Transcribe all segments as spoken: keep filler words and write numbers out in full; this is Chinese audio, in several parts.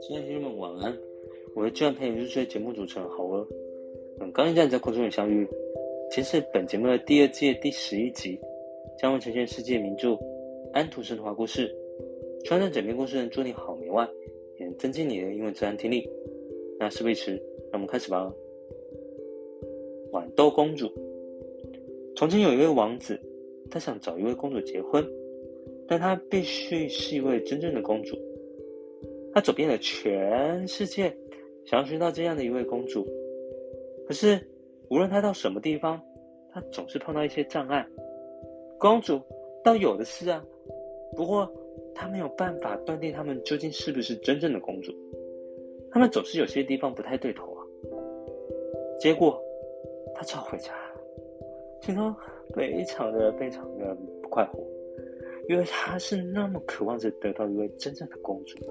親愛的聽眾們，晚安！我是居然陪你入睡節目主持人豪兒。很高興在你在空中與相遇。今天是本節目的第二季第十一集，將會呈現世界名著《安徒生童話故事》。穿上枕邊故事能助你好眠外，也能增進你的英文自然聽力。那事不宜遲，讓我們開始吧。豌豆公主。從前有一位王子，他想找一位公主結婚，但他必須是一位真正的公主。他走遍了全世界，想要尋到這樣的一位公主。可是無論他到什麼地方，他總是碰到一些障礙。公主倒有的是啊，不過他沒有辦法斷定他們究竟是不是真正的公主。他們總是有些地方不太對頭啊。結果他只好回家，心中非常的非常的不快活，因為他是那麼渴望着得到一位真正的公主。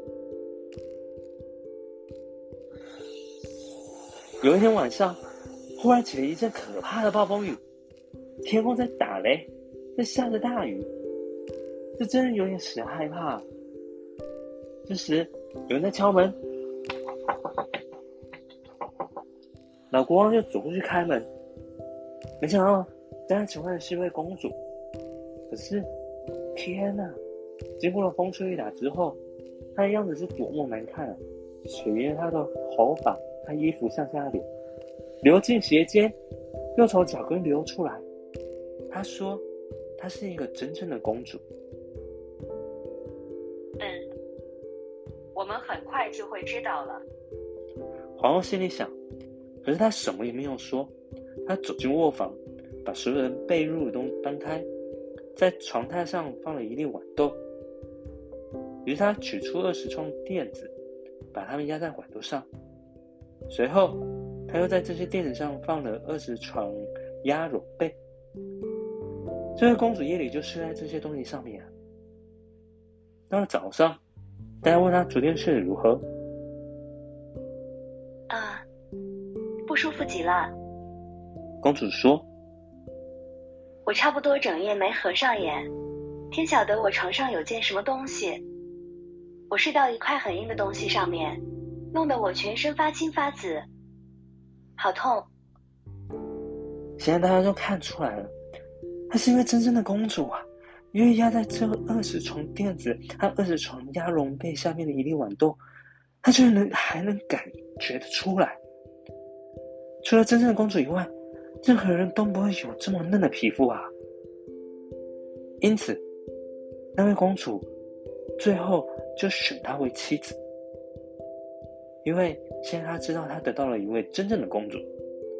有一天晚上，忽然起了一陣可怕的暴風雨，天空在打雷，在下着大雨，這真的有點使人害怕。這時有人在敲門，老國王就走過去開門，沒想到在他請來的是一位公主。可是天哪，經過了風吹雨打之後，她的樣子是多麼難看啊！水沿着她的頭髮，她衣服向下流，流進鞋尖，又從腳跟流出來。她說她是一個真正的公主。 嗯，我們很快就會知道了。 皇后心裡想，可是她什麼也沒有說。她走進臥房，把所有人被褥都搬開，在床榻上放了一粒豌豆。於是她取出二十床墊子，把它們壓在豌豆上。隨後她又在這些墊子上放了二十床鴨絨被。這位公主夜裡就睡在這些東西上面啊。到了早上，大家問她昨天睡得如何。 啊，不舒服極了。 公主說， 我差不多整夜沒合上眼，天曉得我床上有件什麼東西，我睡到一塊很硬的東西上面，弄得我全身發青發紫，好痛。 現在大家都看出來了，她是一位真正的公主啊，因為壓在這二十床墊子和二十床鴨絨被下面的一粒豌豆，她居然能還能感覺得出來。除了真正的公主以外，任何人都不會有這麼嫩的皮膚啊。因此那位公主最後就選她為妻子，因為現在她知道她得到了一位真正的公主。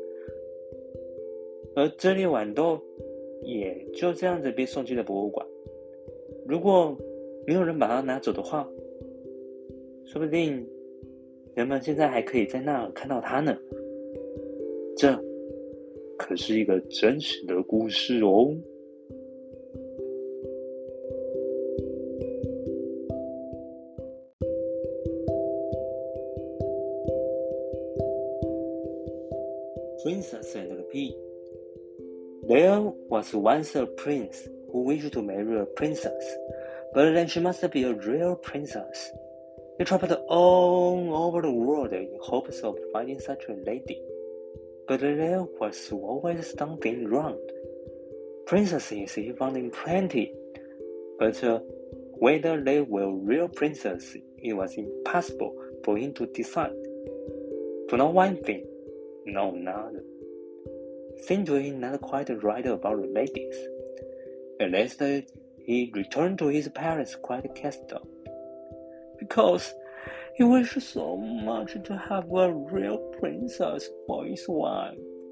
而這粒豌豆也就這樣子被送進了博物館。如果沒有人把它拿走的話，說不定人們現在還可以在那兒看到它呢。這可是一個真實的故事哦。Princess and the Pea. There was once a prince who wished to marry a princess, but then she must be a real princess. He traveled all over the world in hopes of finding such a lady, but there was always something wrong. Princesses he found in plenty, but uh, whether they were real princesses, it was impossible for him to decide. For not one thing, no another. Seemed to him not quite right about the ladies. At last he returned to his palace quite cast down, because he wished so much to have a real princess for his wife.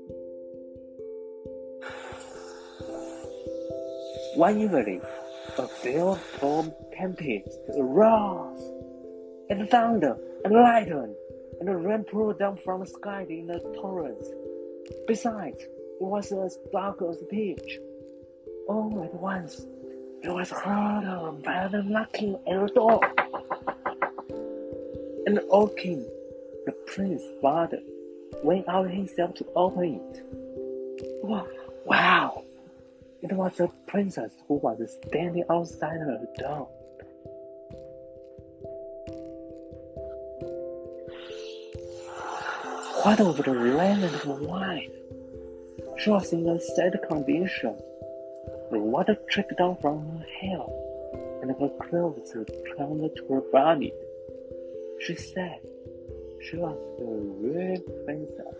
One evening, a fearful tempest arose, and thunder and lightning, and the rain poured down from the sky in a torrent. Besides, it was as dark as pitch. All at once, there was heard a violent knocking at the door. And the old king, the prince's father, went out himself to open it. Wow! It was a princess who was standing outside her door. What of the eleventh wife? She was in a sad condition. The water tricked down from her hair, and her clothes clung to her body. She said she was a real princess.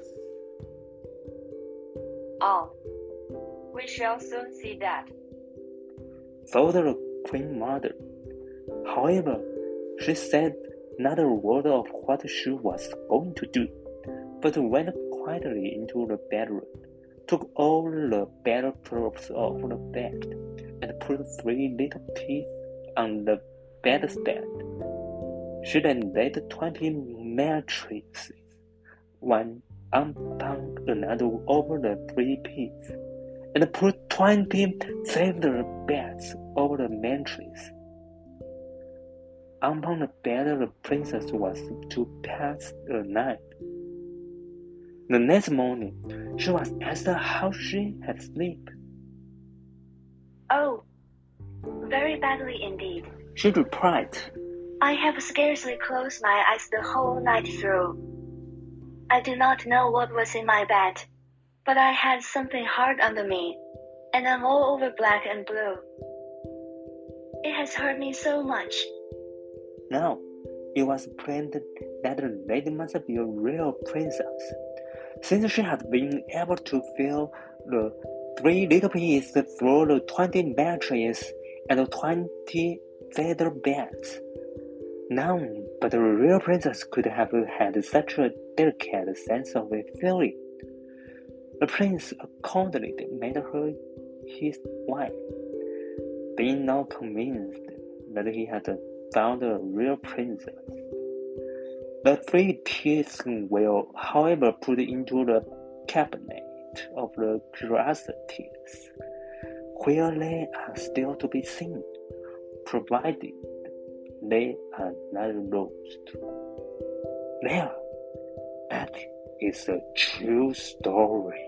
Oh, we shall soon see that, thought the Queen Mother. However, she said not a word of what she was going to do, but went quietly into the bedroom, took all the bedclothes off the bed, and put three little pigs on the bedstead. She then laid twenty mattresses, one upon another over the three pigs, and put twenty feather beds over the mattress. Upon the bed the princess was to pass the night. The next morning, she was asked how she had slept. Oh, very badly indeed, She replied. I have scarcely closed my eyes the whole night through. I do not know what was in my bed, but I had something hard under me, and I'm all over black and blue. It has hurt me so much. Now, it was plain that the lady must be a real princess, since she had been able to fill the three little pigs through the twenty mattresses and the twenty feather beds. None but a real princess could have had such a delicate sense of feeling. The prince accordingly made her his wife, being now convinced that he had found a real princess. The three pigs were, however, put into the cabinet of the curiosities, where they are still to be seen, provided they are not lost. There, that is a true story.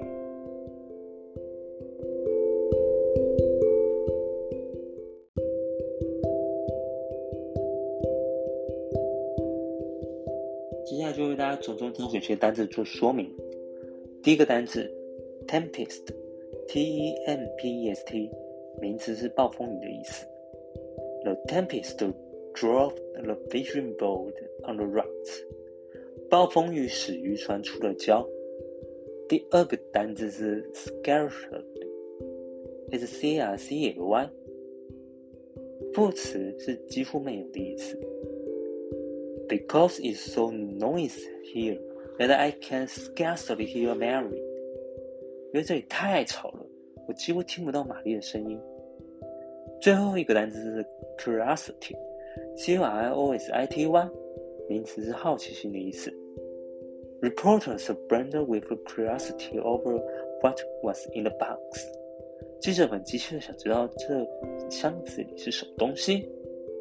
接下来就为大家从中挑选些单字做说明。第一个单字 tempest T E M P E S T 名词是暴風雨的意思。The tempest drove the fishing boat on the rocks. 暴風雨使漁船出了礁。第二個單字是 scarcely S C R C L Y 副詞是幾乎沒有的意思。Because it's so noisy here that I can scarcely hear Mary. 因為這裡太吵了，我幾乎聽不到瑪麗的聲音。最後一個單詞是 curiosity C U R I O S I T Y 名詞是好奇心的意思。Reporters burned with curiosity over what was in the box. 記者們急切地想知道這箱子裡是什麼東西。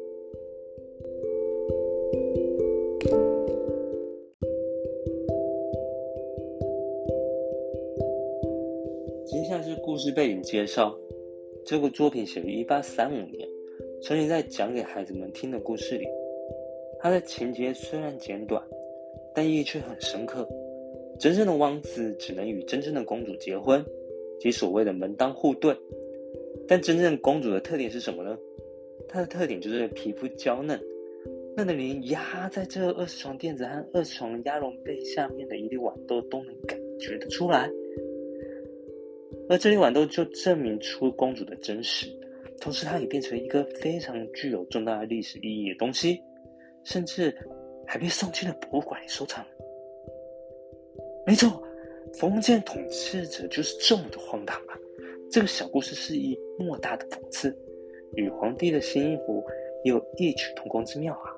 接下來是故事背景介紹。這個作品寫於一八三五年，曾經在講給孩子們聽的故事裡。它的情節雖然簡短，但意義卻很深刻。真正的王子只能與真正的公主結婚，即所謂的門當戶對。但真正公主的特點是什麼呢？她的特點就是皮膚嬌嫩，嫩的連壓在這二十床墊子和二十床鴨絨被下面的一粒豌豆都能感覺得出來。而這粒豌豆就證明出公主的真實，同時它也變成一個非常具有重大的歷史意義的東西，甚至還被送進了博物館裡收藏。沒錯，封建統治者就是這麼的荒唐啊！這個小故事是以莫大的諷刺，與皇帝的新衣服也有異曲同工之妙啊！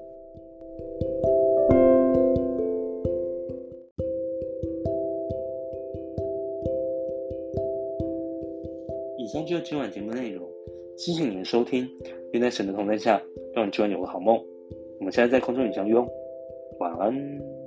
以上就是今晚節目內容，謝謝你的收聽。願在神的同在下，讓你今晚有個好夢。我們下次在空中裡相遇哦，晚安。